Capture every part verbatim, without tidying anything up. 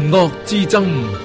惡之爭。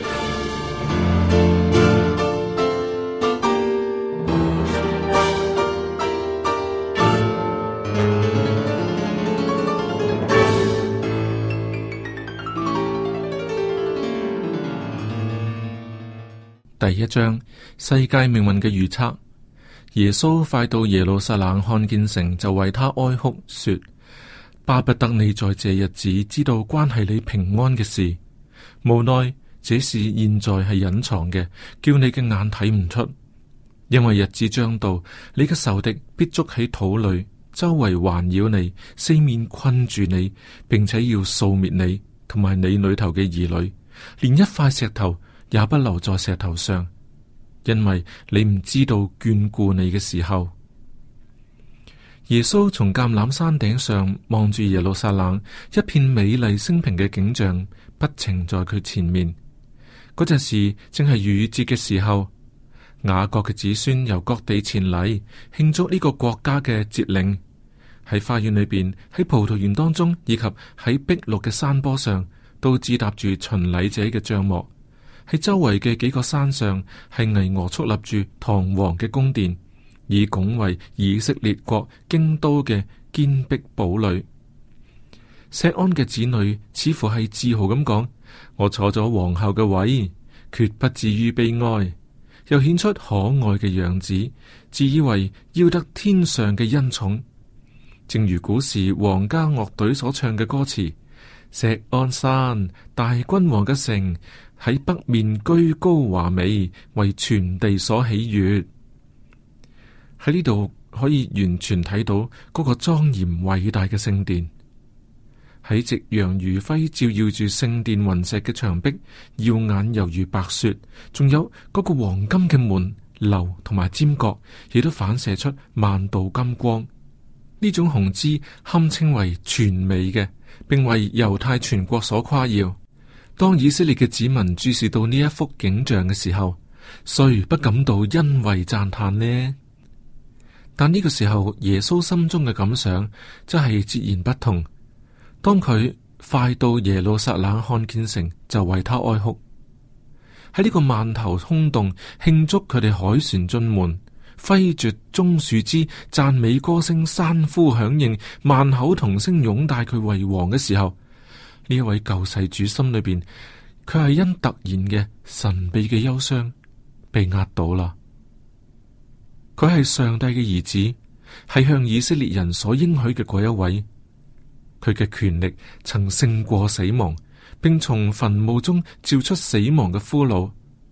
第一章，世界命運嘅預測。耶穌快到耶路撒冷看見城，就為他哀哭，說：巴不得你在這日子知道關係你平安嘅事，無奈這事現在係隱藏嘅，叫你嘅眼睇唔出。因為日子將到，你嘅仇敵必捉起土壘，周圍環繞你，四面困住你，並且要掃滅你同埋你裏頭嘅兒女，連一塊石頭也不留在石頭上，因為你唔知道眷顧你嘅時候。耶穌從橄欖山頂上望住耶路撒冷，一片美麗升平嘅景象不停在佢前面。嗰陣時正係逾越節嘅時候，雅各嘅子孫由各地前嚟慶祝呢個國家嘅節令。喺花園裏邊，喺葡萄園當中，以及喺碧綠嘅山坡上，都支搭住巡禮者嘅帳幕。喺周圍嘅幾個山上，係巍峨矗立住堂皇嘅宮殿，以拱為以色列國京都嘅堅壁堡壘。錫安嘅子女似乎係自豪咁講：我坐咗皇后嘅位，決不至於悲哀。又顯出可愛嘅樣子，自以為要得天上嘅恩寵。正如古時皇家樂隊所唱嘅歌詞：錫安山，大君王嘅城，喺北面居高華美，為全地所喜悅。喺呢度可以完全睇到嗰個莊嚴偉大嘅聖殿。喺夕陽餘暉照耀住聖殿雲石嘅牆壁，耀眼猶如白雪。仲有嗰個黃金嘅門樓同埋尖角，亦都反射出萬道金光。呢種雄姿堪稱為全美嘅，並為猶太全國所誇耀。當以色列嘅子民注視到呢一幅景象嘅時候，誰不感到欣慰讚嘆呢？但呢個時候，耶穌心中嘅感想真係截然不同。當佢快到耶路撒冷看見城，就為他哀哭。喺呢個萬頭空洞慶祝佢哋凱旋進門，揮絕棕樹枝，讚美歌聲，山呼響應，萬口同聲擁戴佢為王嘅時候，呢一位救世主心裏邊，佢係因突然嘅神秘嘅憂傷被壓倒啦。佢係上帝嘅兒子，係向以色列人所應許嘅嗰一位。佢嘅權力曾勝過死亡，並從墳墓中召出死亡嘅俘虜。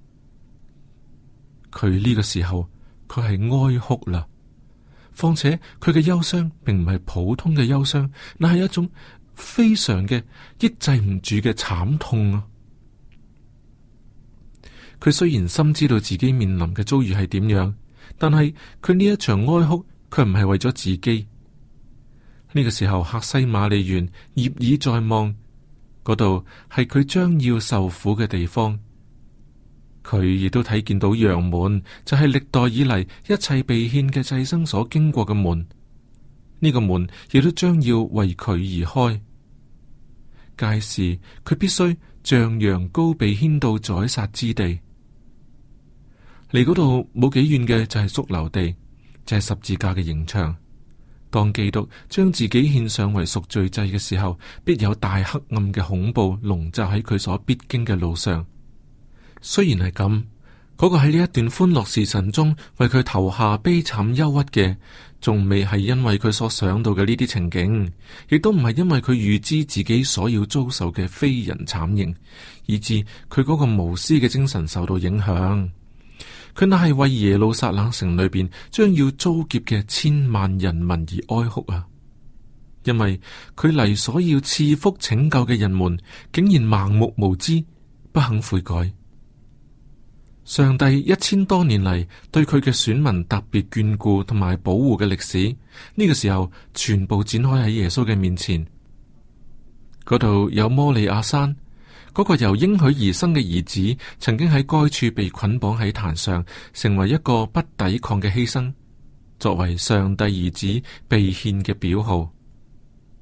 佢呢個時候，佢係哀哭啦。況且佢嘅憂傷並唔係普通嘅憂傷，那係一種非常嘅抑制唔住嘅慘痛啊！佢雖然深知道自己面臨嘅遭遇係點樣，但係佢呢一場哀哭，佢唔係為咗自己。呢個時候，客西馬尼園業已在望，嗰度係佢將要受苦嘅地方。佢亦都睇見到羊門，就係、是、歷代以嚟一切被獻嘅祭牲所經過嘅門。呢、這個門亦都將要為佢而開。屆時佢必須像羊羔被牽到宰殺之地。離嗰度冇幾遠嘅就係髑髏地，就係、是、十字架嘅刑場。當基督將自己獻上為贖罪祭嘅時候，必有大黑暗嘅恐怖籠罩喺佢所必經嘅路上。雖然係咁，嗰、那個喺呢一段歡樂時辰中為佢投下悲慘憂鬱嘅，仲未係因為佢所想到嘅呢啲情景，亦都唔係因為佢預知自己所要遭受嘅非人慘刑，以致佢嗰個無私嘅精神受到影響。佢那係為耶路撒冷城裏邊將要遭劫嘅千萬人民而哀哭啊！因為佢嚟所要賜福拯救嘅人們，竟然盲目無知，不肯悔改。上帝一千多年嚟對佢嘅選民特別眷顧同埋保護嘅歷史，呢、這個時候全部展開喺耶穌嘅面前。嗰度有摩利亞山。嗰個由應許而生嘅兒子，曾經喺該處被捆綁喺壇上，成為一個不抵抗嘅犧牲，作為上帝兒子被獻嘅表號。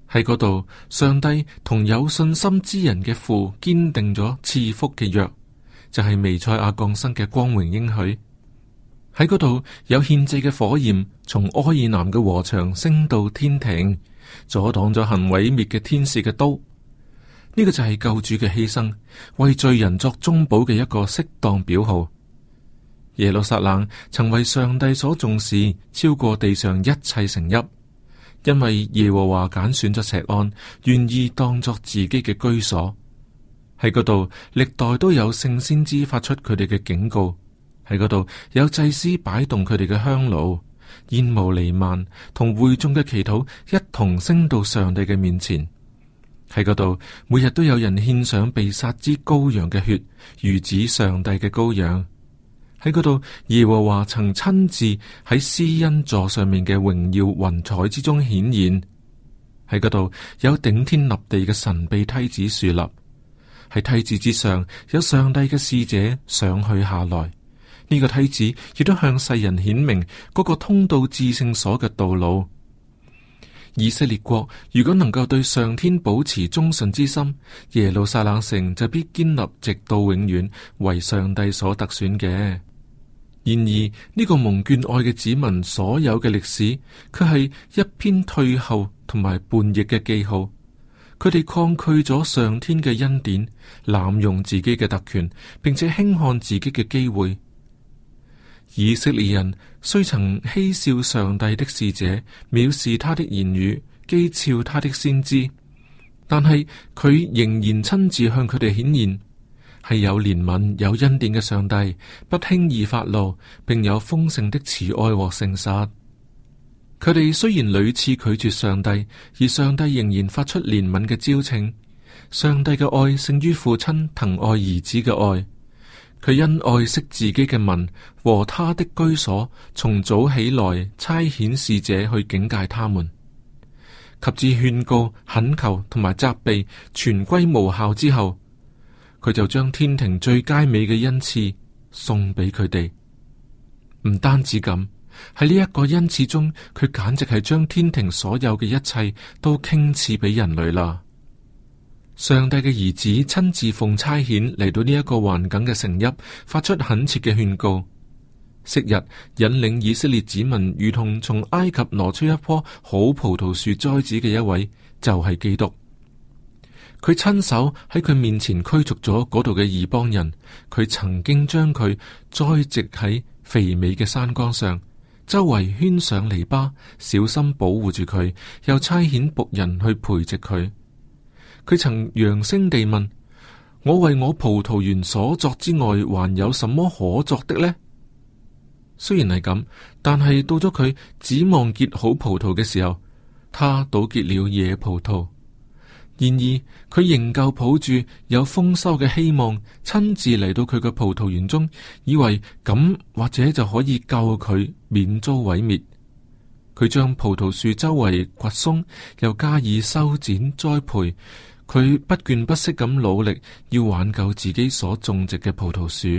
喺嗰度，上帝同有信心之人嘅父堅定咗賜福嘅約，就係彌賽亞降生嘅光榮應許。喺嗰度有獻祭嘅火焰從柯爾南嘅禾場升到天庭，阻擋咗行毀滅嘅天使嘅刀。呢、這個就係救主嘅犧牲，為罪人作中保嘅一個適當表號。耶路撒冷曾為上帝所重視，超過地上一切城邑，因為耶和華揀選咗錫安，願意當作自己嘅居所。喺嗰度，歷代都有聖先知發出佢哋嘅警告。喺嗰度有祭司擺動佢哋嘅香爐，煙霧彌漫，同會眾嘅祈禱一同升到上帝嘅面前。喺嗰度，每日都有人獻上被殺之羔羊嘅血，如指上帝嘅羔羊。喺嗰度，耶和華曾親自喺施恩座上面嘅榮耀雲彩之中顯現。喺嗰度有頂天立地嘅神秘梯子豎立，喺梯子之上有上帝嘅使者上去下來。呢個梯子亦都向世人顯明嗰個通到至聖所嘅道路。以色列國如果能夠對上天保持忠信之心，耶路撒冷城就必堅立直到永遠，為上帝所特選嘅。然而呢、這個蒙眷愛嘅子民所有嘅歷史，卻係一篇退後同埋叛逆嘅記號。佢哋抗拒咗上天嘅恩典，濫用自己嘅特權，並且輕看自己嘅機會。以色列人雖曾嬉笑上帝的使者，藐視他的言語，譏誚他的先知，但係佢仍然親自向佢哋顯現，係有憐憫、有恩典嘅上帝，不輕易發怒，並有豐盛的慈愛和誠實。佢哋雖然屢次拒絕上帝，而上帝仍然發出憐憫嘅招請。上帝嘅愛勝於父親疼愛兒子嘅愛。佢因愛惜自己嘅民和他的居所，從早起來差遣使者去警戒他們，及至勸告、懇求同埋責備全歸無效之後，佢就將天庭最佳美嘅恩賜送俾佢哋。唔單止咁，喺呢一個恩賜中，佢簡直係將天庭所有嘅一切都傾賜俾人類啦。上帝嘅兒子親自奉差遣嚟到呢一個環境嘅城邑，發出懇切嘅勸告。昔日引領以色列子民如同從埃及挪出一棵好葡萄樹栽子嘅一位，就係基督。佢親手喺佢面前驅逐咗嗰度嘅異邦人。佢曾經將佢栽植喺肥美嘅山崗上，周圍圈上籬笆，小心保護住佢，又差遣僕人去培植佢。佢曾揚聲地問：我為我葡萄園所作之外，還有什麼可作的呢？雖然係咁，但係到咗佢指望結好葡萄嘅時候，他倒結了野葡萄。然而佢仍舊抱住有豐收嘅希望，親自嚟到佢嘅葡萄園中，以為咁或者就可以救佢免遭毀滅。佢將葡萄樹周圍掘鬆，又加以修剪栽培。佢不倦不息咁努力，要挽救自己所種植嘅葡萄樹。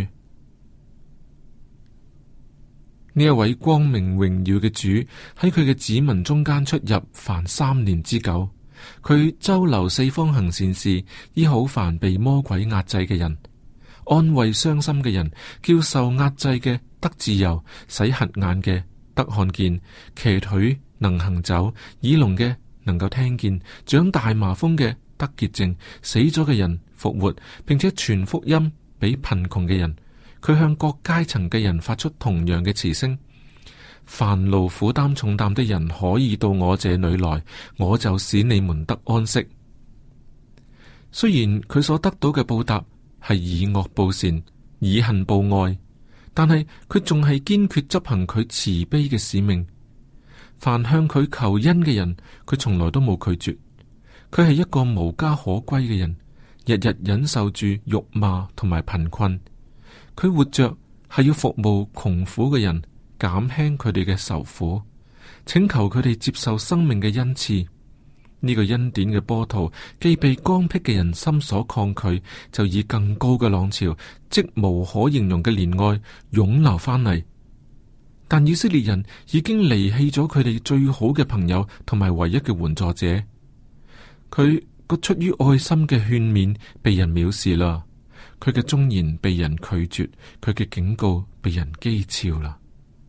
呢一位光明榮耀嘅主喺佢嘅子民中間出入，凡三年之久。佢周流四方行善事，醫好凡被魔鬼壓制嘅人，安慰傷心嘅人，叫受壓制嘅得自由，使瞎眼嘅得看見，瘸腿能行走，耳聾嘅能夠聽見，長大麻風嘅得潔淨，死咗嘅人復活，並且傳福音俾貧窮嘅人。佢向各階層嘅人發出同樣嘅慈聲：凡勞苦擔重擔的人可以到我這裏來，我就使你們得安息。雖然佢所得到嘅報答係以惡報善，以恨報愛，但係佢仲係堅決執行佢慈悲嘅使命。凡向佢求恩嘅人，佢從來都冇拒絕。佢係一個無家可歸嘅人，日日忍受住辱罵同埋貧困。佢活着係要服務窮苦嘅人，減輕佢哋嘅愁苦，請求佢哋接受生命嘅恩賜。呢、這個恩典嘅波濤，既被剛僻嘅人心所抗拒，就以更高嘅浪潮，即無可形容嘅憐愛湧流翻嚟。但以色列人已經離棄咗佢哋最好嘅朋友同埋唯一嘅援助者。 佢個出於愛心嘅勸勉被人藐視啦，佢嘅忠言被人拒絕，佢嘅警告被人譏誚啦。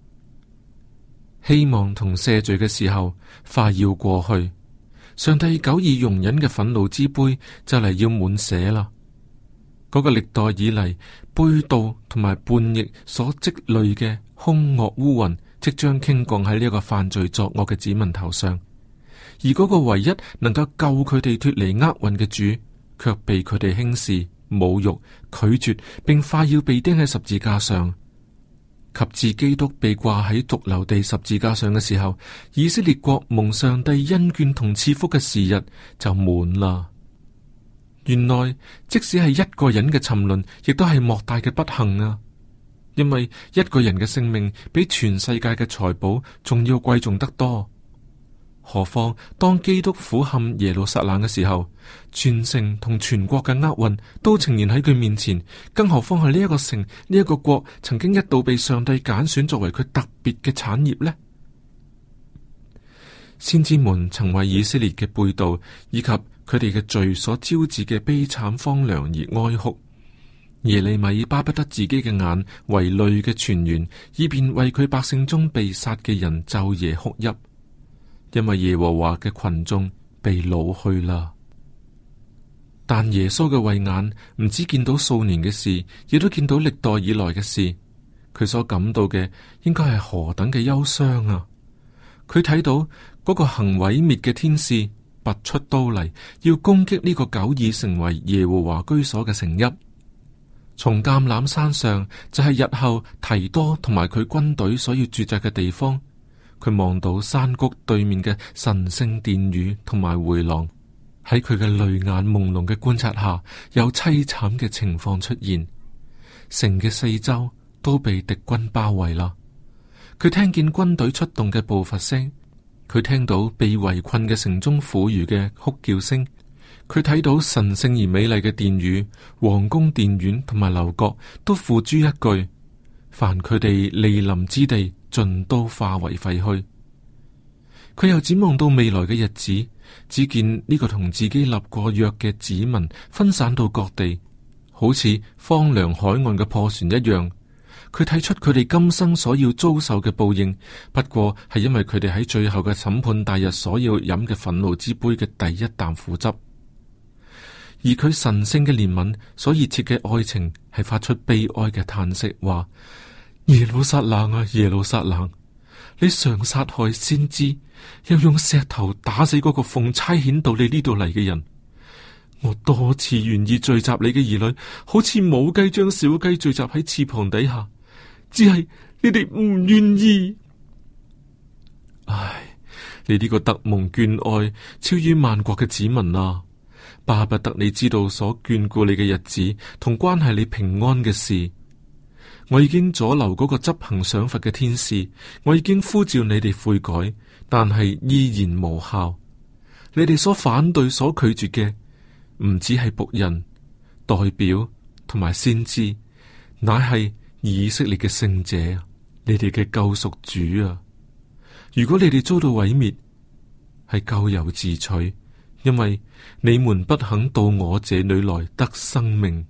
希望同赦罪嘅時候快要過去，上帝久已容忍嘅憤怒之杯就嚟要滿瀉啦。嗰、那個歷代以嚟背道同埋叛逆所積累嘅凶惡烏雲，即將傾降喺呢一個犯罪作惡嘅子民頭上。而嗰個唯一能夠救佢哋脫離厄運嘅主，卻被佢哋輕視、侮辱、拒絕，並快要被釘喺十字架上。及至基督被掛喺髑髏地十字架上嘅時候，以色列國蒙上帝恩眷同賜福嘅時日就滿啦。原來即使係一個人嘅沉淪，亦都係莫大嘅不幸啊！因為一個人嘅性命比全世界嘅財寶仲要貴重得多。何況當基督俯瞰耶路撒冷嘅時候，全城同全國嘅厄運都呈現喺佢面前，更何況係呢一個城、呢一個國曾經一度被上帝揀選作為佢特別嘅產業呢？先知們曾為以色列嘅背道以及佢哋嘅罪所招致嘅悲慘荒涼而哀哭。耶利米巴不得自己嘅眼為淚嘅泉源，以便為佢百姓中被殺嘅人晝夜哭泣。因為耶和華嘅群眾被擄去啦。但耶穌嘅慧眼唔止見到數年嘅事，亦都見到歷代以來嘅事。佢所感到嘅應該係何等嘅憂傷啊！佢睇到嗰個行毀滅嘅天使拔出刀嚟，要攻擊呢個久已成為耶和華居所嘅城邑。從橄欖山上就係日後提多同埋佢軍隊所要駐紮嘅地方。佢望到山谷對面嘅神聖殿宇同埋回廊，喺佢嘅淚眼朦朧嘅觀察下，有淒慘嘅情況出現。城嘅四周都被敵軍包圍啦。佢聽見軍隊出動嘅步伐聲，佢聽到被圍困嘅城中婦孺嘅哭叫聲，佢睇到神聖而美麗嘅殿宇、皇宮殿院同埋樓閣都付諸一炬，凡佢哋莅臨之地，盡都化為廢墟。佢又展望到未來嘅日子，只見呢個同自己立過約嘅子民分散到各地，好似荒涼海岸嘅破船一樣。佢睇出佢哋今生所要遭受嘅報應，不過係因為佢哋喺最後嘅審判大日所要飲嘅憤怒之杯嘅第一啖苦汁。而佢神聖嘅憐憫所熱切嘅愛情，係發出悲哀嘅嘆息，話：耶路撒冷啊，耶路撒冷，你常殺害先知，又用石頭打死嗰個奉差遣到你呢度嚟嘅人。我多次願意聚集你嘅兒女，好似母雞將小雞聚集喺翅膀底下，只係你哋唔願意。唉，你呢個特蒙眷愛超於萬國嘅子民啊，巴不得你知道所眷顧你嘅日子同關係你平安嘅事。我已經阻留嗰個執行賞罰嘅天使，我已經呼召你哋悔改，但係依然無效。你哋所反對、所拒絕嘅，唔止係僕人、代表同埋先知，乃係以色列嘅聖者，你哋嘅救贖主啊！如果你哋遭到毀滅，係咎由自取，因為你們不肯到我這裏來得生命。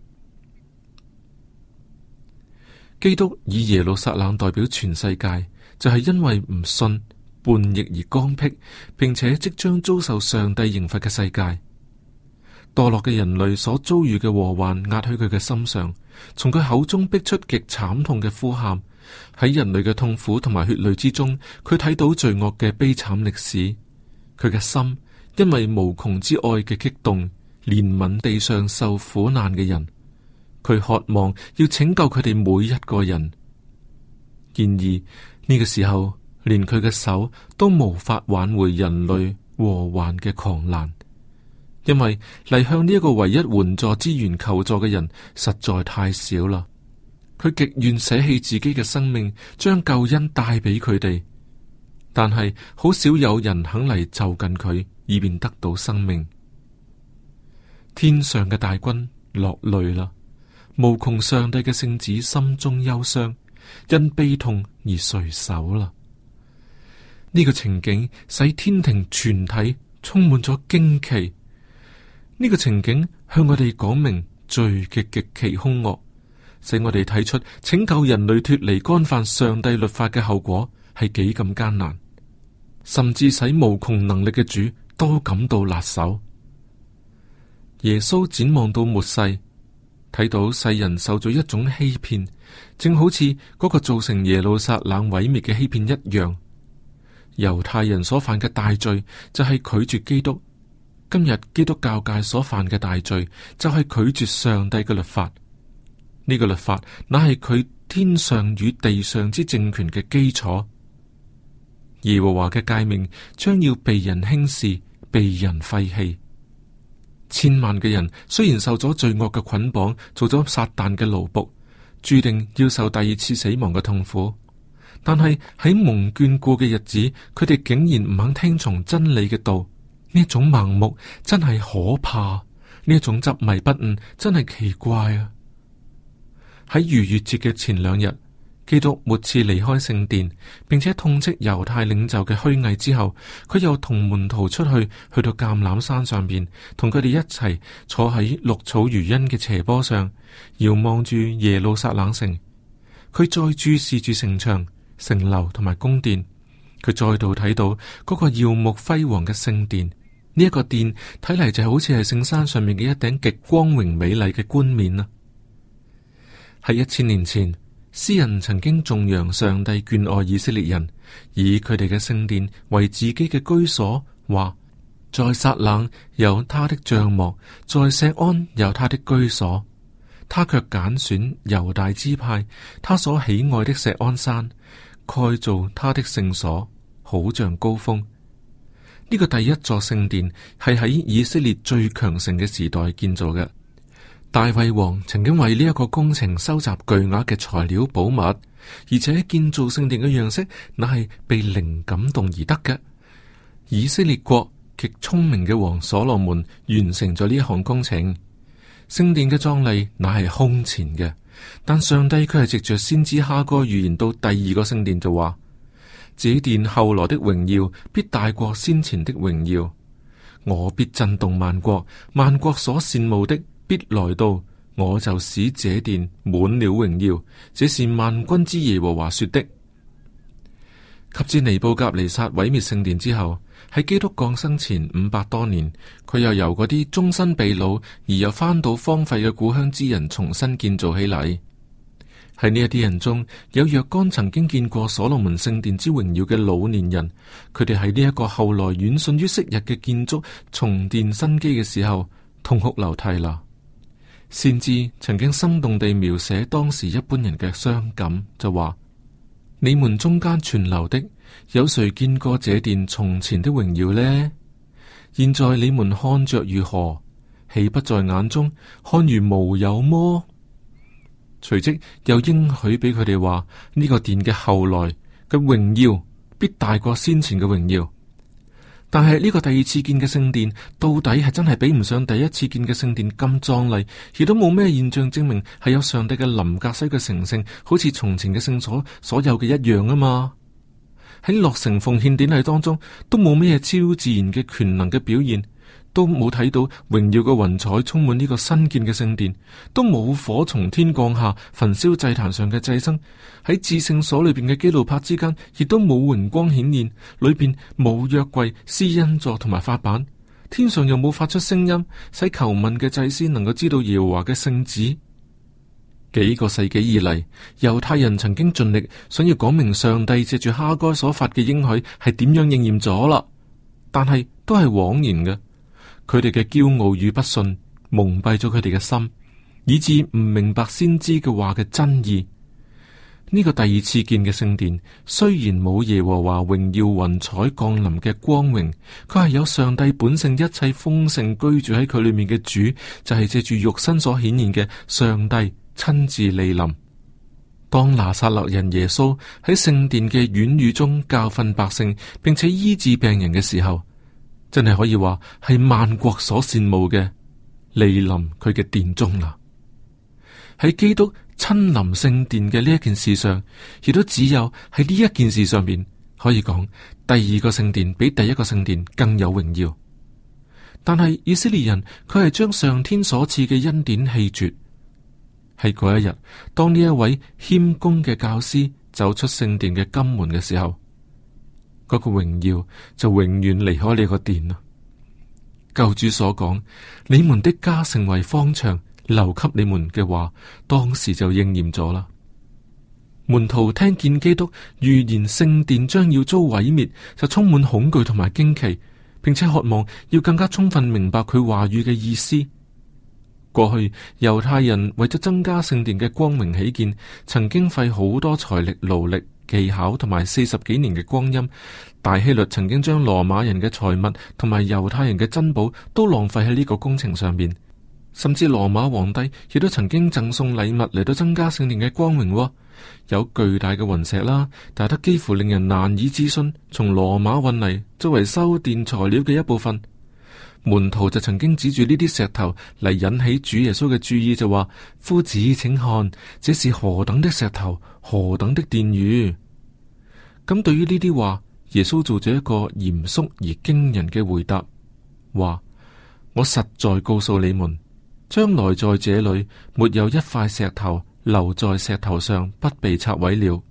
基督以耶路撒冷代表全世界，就係因為唔信、叛逆而剛愎，並且即將遭受上帝刑罰嘅世界。墮落嘅人類所遭遇嘅禍患壓喺佢嘅心上，從佢口中逼出極慘痛嘅呼喊。喺人類嘅痛苦同埋血淚之中，佢睇到罪惡嘅悲慘歷史。佢嘅心因為無窮之愛嘅激動，憐憫地上受苦難嘅人。佢渴望要拯救佢哋每一個人。然而呢個時候，連佢嘅手都無法挽回人類禍患嘅狂瀾。因為嚟向呢一個唯一援助之源求助嘅人實在太少啦，佢極願捨棄自己嘅生命，將救恩帶俾佢哋，但係好少有人肯嚟就近佢，以便得到生命。天上嘅大軍落淚啦，無窮上帝嘅聖子心中憂傷，因悲痛而垂首啦。呢個情景使天庭全體充滿咗驚奇。 呢個情景向我哋講明罪嘅極其兇惡，使我哋睇出拯救人類脫離干犯上帝律法嘅後果係幾咁艱難，甚至使無窮能力嘅主都感到辣手。耶穌展望到末世，睇到世人受咗一種欺騙，正好似嗰個造成耶路撒冷毀滅嘅欺騙一樣。猶太人所犯嘅大罪就係拒絕基督，今日基督教界所犯嘅大罪就係拒絕上帝嘅律法。呢個律法乃係佢天上與地上之政權嘅基礎。耶和華嘅誡命將要被人輕視，被人廢棄。千萬嘅人雖然受咗罪惡嘅捆綁，做咗撒旦嘅奴僕，注定要受第二次死亡嘅痛苦。但係喺蒙眷顧嘅日子，佢哋竟然唔肯聽從真理嘅道，呢一種盲目真係可怕，呢一種執迷不悟真係奇怪啊！喺逾越節嘅前兩日，基督末次離開聖殿，並且痛斥猶太領袖嘅虛偽之後，佢又同門徒出去，去到橄欖山上邊，同佢哋一齊坐喺綠草如茵嘅斜坡上，遙望住耶路撒冷城。佢再注視住城牆、城樓同埋宮殿，佢再度睇到嗰個耀目輝煌嘅聖殿。呢、這、一個殿睇嚟就好似係聖山上面嘅一頂極光榮美麗嘅冠冕啊！喺一千年前，詩人曾經頌揚上帝眷愛以色列人，以佢哋嘅聖殿為自己嘅居所，話在撒冷有他的帳幕，在錫安有他的居所。他卻揀選猶大支派，他所喜愛的錫安山，蓋造他的聖所，好像高峰。呢、這個第一座聖殿係喺以色列最強盛嘅時代建造嘅。大衛王曾經為呢一個工程收集巨額嘅材料寶物，而且建造聖殿嘅樣式乃係被靈感動而得嘅。以色列國極聰明嘅王所羅門完成咗呢一項工程。聖殿嘅壯麗乃係空前嘅，但上帝卻係藉着先知哈該預言到第二個聖殿就話：這殿後來的榮耀必大過先前的榮耀，我必震動萬國，萬國所羨慕的必來到，我就使這殿滿了榮耀。這是萬軍之耶和華說的。及至尼布甲尼撒毀滅聖殿之後，喺基督降生前五百多年，佢又由嗰啲終身被擄而又翻到荒廢嘅故鄉之人重新建造起嚟。喺呢一啲人中，有若干曾經見過所羅門聖殿之榮耀嘅老年人，佢哋喺呢一個後來遠遜於昔日嘅建築重奠生機嘅時候，痛哭流涕啦。先知曾經生動地描寫當時一般人嘅傷感，就話：你們中間存留的，有誰見過這殿從前的榮耀呢？現在你們看着如何？豈不在眼中看如無有麼？隨即又應許俾佢哋話：呢、這個殿嘅後來嘅榮耀必大過先前嘅榮耀。但係呢個第二次建嘅聖殿，到底係真係比唔上第一次建嘅聖殿咁壯麗，亦都冇咩現象證明係有上帝嘅臨格西嘅成聖，好似從前嘅聖所所有嘅一樣啊嘛。喺落成奉獻典禮當中，都冇咩超自然嘅權能嘅表現，都冇睇到榮耀嘅雲彩充滿呢個新建嘅聖殿，都冇火從天降下焚燒祭壇上嘅祭牲。喺至聖所裏邊嘅基路伯之間，亦都冇榮光顯現，裏邊冇約櫃、施恩座同埋法版，天上又冇發出聲音，使求問嘅祭司能夠知道耶和華嘅聖旨。幾個世紀以嚟，猶太人曾經盡力想要講明上帝借住哈該所發嘅應許係點樣應驗咗啦，但係都係枉然嘅。佢哋嘅驕傲與不信蒙蔽咗佢哋嘅心，以致唔明白先知嘅話嘅真意。呢個第二次建嘅聖殿雖然冇耶和華榮耀雲彩降臨嘅光榮，佢係有上帝本性一切豐盛居住喺佢裏面嘅主，就係借住肉身所顯現嘅上帝親自蒞臨。當拿撒勒人耶穌喺聖殿嘅院宇中教訓百姓，並且醫治病人嘅時候，真係可以話係萬國所羨慕嘅蒞臨佢嘅殿中啦。喺基督親臨聖殿嘅呢一件事上，亦都只有喺呢一件事上邊可以講，第二個聖殿比第一個聖殿更有榮耀。 但係以色列人佢係將上天所賜嘅恩典棄絕。喺嗰一日，當呢一位謙恭嘅教師走出聖殿嘅金門嘅時候，嗰、那個榮耀就永遠離開呢個殿啦。救主所講，你們的家成為荒場，留給你們嘅話，當時就應驗咗啦。門徒聽見基督預言聖殿將要遭毀滅，就充滿恐懼同埋驚奇，並且渴望要更加充分明白佢話語嘅意思。過去猶太人為咗增加聖殿嘅光榮起見，曾經費好多財力、勞力、技巧同埋四十幾年嘅光陰。大希律曾經將羅馬人嘅財物同埋猶太人嘅珍寶都浪費喺呢個工程上面，甚至羅馬皇帝亦都曾經贈送禮物嚟到增加聖殿嘅光榮，哦。有巨大嘅雲石啦，大得幾乎令人難以置信，從羅馬運嚟作為修殿材料嘅一部分。門徒就曾經指住呢啲石頭嚟引起主耶穌嘅注意，就話：夫子請看，這是何等的石頭，何等的殿宇。咁對於呢啲話，耶穌做咗一個嚴肅而驚人嘅回答，話：我實在告訴你們，將來在這裏沒有一塊石頭留在石頭上不被拆毀了。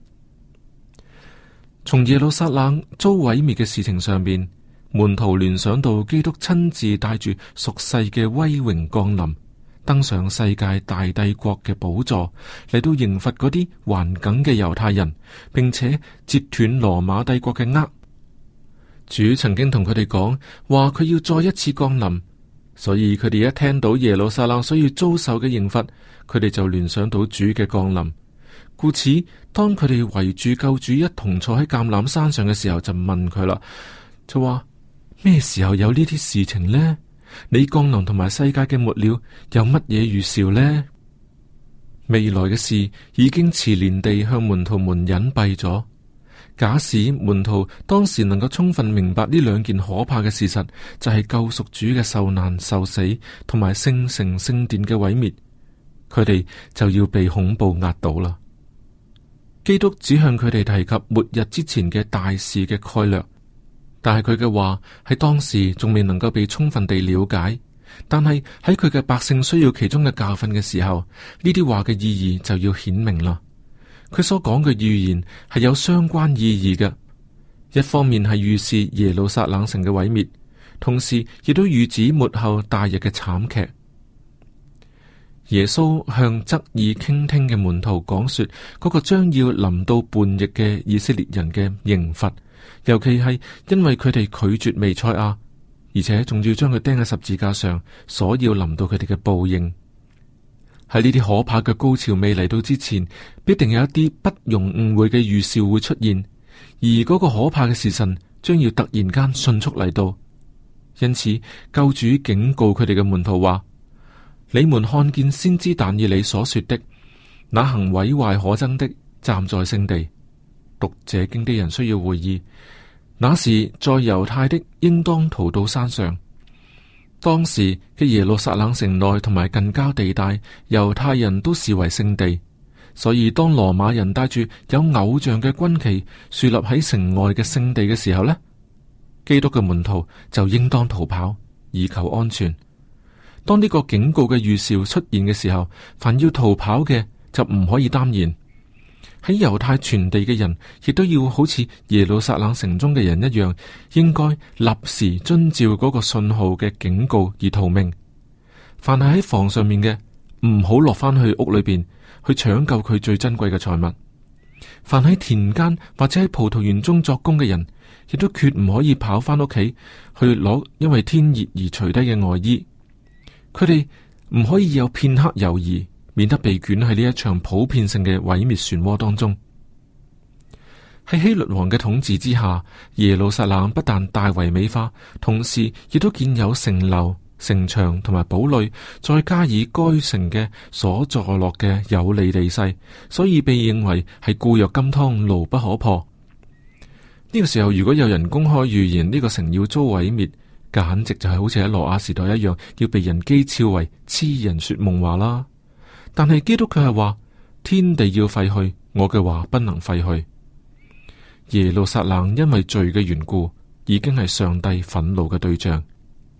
從耶路撒冷遭毀滅嘅事情上面，門徒聯想到基督親自帶住屬世嘅威榮降臨，登上世界大帝國嘅寶座，嚟到刑罰嗰啲頑梗嘅猶太人，並且截斷羅馬帝國嘅軛。主曾經同佢哋講話，佢要再一次降臨，所以佢哋一聽到耶路撒冷需要遭受嘅刑罰，佢哋就聯想到主嘅降臨。故此，當佢哋圍住救主一同坐喺橄欖山上嘅時候，就問佢啦，就話：咩時候有呢啲事情呢？你降臨同埋世界嘅末了有乜嘢預兆呢？未來嘅事已經遲年地向門徒們隱蔽咗。假使門徒當時能夠充分明白呢兩件可怕嘅事實，就係救贖主嘅受難受死同埋聖城聖殿嘅毀滅，佢哋就要被恐怖壓倒啦。基督只向佢哋提及末日之前嘅大事嘅概略，但係佢嘅話喺當時仲未能夠被充分地了解。但係喺佢嘅百姓需要其中嘅教訓嘅時候，呢啲話嘅意義就要顯明啦。佢所講嘅預言係有相關意義嘅，一方面係預示耶路撒冷城嘅毀滅，同時亦都預指末後大日嘅慘劇。耶穌向側耳傾聽嘅門徒講說嗰個將要臨到叛逆嘅以色列人嘅刑罰，尤其係因為佢哋拒絕彌賽亞，而且仲要將佢釘喺十字架上，所要臨到佢哋嘅報應。喺呢啲可怕嘅高潮未嚟到之前，必定有一啲不容誤會嘅預兆會出現，而嗰個可怕嘅時辰將要突然間迅速嚟到。因此，救主警告佢哋嘅門徒話：你們看見先知但以理所說的，那行毀壞可憎的站在聖地。讀這經的人需要會意，那時在猶太的應當逃到山上。當時嘅耶路撒冷城內同埋近郊地帶，猶太人都視為聖地，所以當羅馬人帶住有偶像嘅軍旗豎立喺城外嘅聖地嘅時候呢，基督嘅門徒就應當逃跑，以求安全。當呢個警告嘅預兆出現嘅時候，凡要逃跑嘅就唔可以耽延。喺猶太全地嘅人，亦都要好似耶路撒冷城中嘅人一樣，應該立時遵照嗰個信號嘅警告而逃命。凡係喺房上面嘅，唔好落翻去屋裏邊去搶救佢最珍貴嘅財物。凡喺田間或者喺葡萄園中作工嘅人，亦都決唔可以跑翻屋企去攞因為天熱而除低嘅外衣。佢哋唔可以有片刻猶豫，免得被捲喺呢一場普遍性嘅毀滅漩渦當中。喺希律王嘅統治之下，耶路撒冷不但大為美化，同時亦都建有城樓、城牆同埋堡壘，再加以該城嘅所坐落嘅有利地勢，所以被認為係固若金湯，牢不可破。呢個時候，如果有人公開預言呢個城要遭毀滅，簡直就係好似喺挪亞時代一樣，要被人譏誚為痴人說夢話啦。但係基督卻係話，天地要廢去，我嘅話不能廢去。耶路撒冷因為罪嘅緣故，已經係上帝憤怒嘅對象，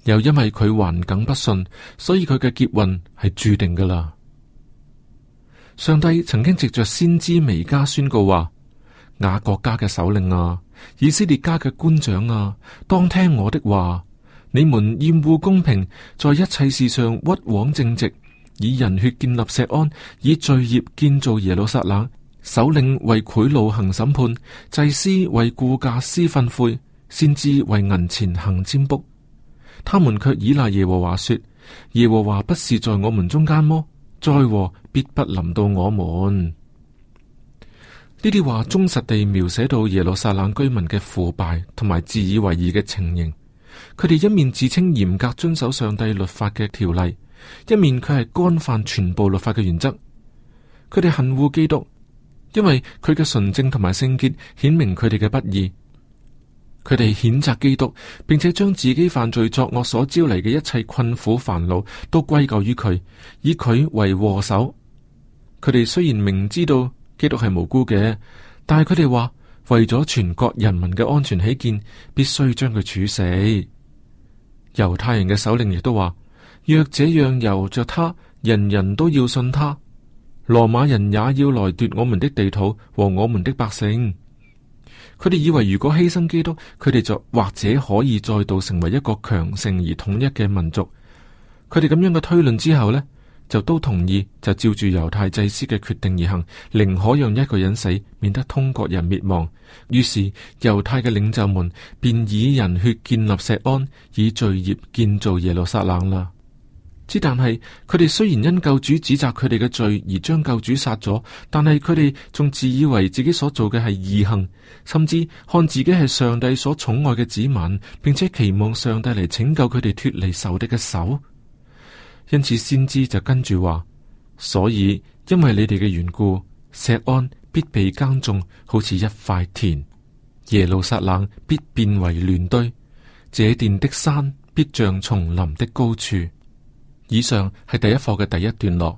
又因為佢頑梗不信，所以佢嘅劫運係注定噶啦。上帝曾經藉着先知彌迦宣告話：雅各家嘅首領啊，以色列家嘅官長啊，當聽我的話。你們厭惡公平，在一切事上屈枉正直，以人血建立錫安，以罪孽建造耶路撒冷。首領為賄賂行審判，祭司為雇價施訓誨，先知為銀錢行占卜。他們卻倚賴耶和華說：耶和華不是在我們中間麼？災禍必不臨到我們。呢啲話忠實地描寫到耶路撒冷居民嘅腐敗同埋自以為義嘅情形。佢哋一面自稱嚴格遵守上帝律法嘅條例，一面佢係干犯全部律法嘅原則。佢哋恨惡基督，因為佢嘅純正同埋聖潔顯明佢哋嘅不義。佢哋譴責基督，並且將自己犯罪作惡所招嚟嘅一切困苦煩惱都歸咎於佢，以佢為禍首。佢哋雖然明知道基督係無辜嘅，但係佢哋話為咗全國人民嘅安全起見，必須將佢處死。猶太人嘅首領亦都話：若這樣由着他，人人都要信他。羅馬人也要來奪我們的地土和我們的百姓。佢哋以為如果犧牲基督，佢哋就或者可以再度成為一個強盛而統一嘅民族。佢哋咁樣嘅推論之後呢，就都同意就照住猶太祭司嘅決定而行，寧可讓一個人死，免得通國人滅亡。於是猶太嘅領袖們便以人血建立錫安，以罪孽建造耶路撒冷啦。之但係佢哋雖然因救主指責佢哋嘅罪而將救主殺咗，但係佢哋仲自以為自己所做嘅係義行，甚至看自己係上帝所寵愛嘅子民，並且期望上帝嚟拯救佢哋脫離仇敵嘅手。因此先知就跟住話：所以因為你哋嘅緣故，錫安必被耕種，好似一塊田；耶路撒冷必變為亂堆，這殿的山必像叢林的高處。以上係第一課嘅第一段落。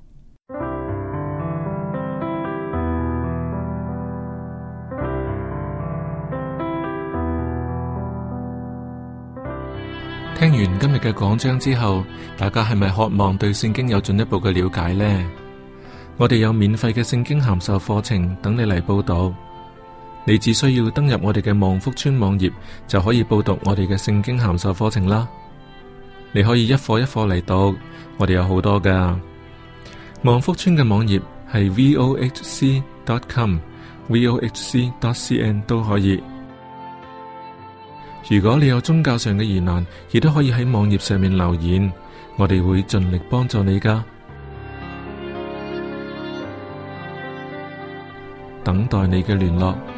聽完今日嘅講章之後，大家係咪渴望對聖經有進一步嘅了解呢？我哋有免費嘅聖經函授課程等你嚟報讀，你只需要登入我哋嘅望福村網頁，就可以報讀我哋嘅聖經函授課程啦。你可以一課一課嚟讀，我哋有好多噶。望福村嘅網頁係 v o h c dot com，v o h c dot c n 都可以。如果你有宗教上嘅疑難，亦都可以喺網頁上面留言，我哋會盡力幫助你噶。等待你嘅聯絡。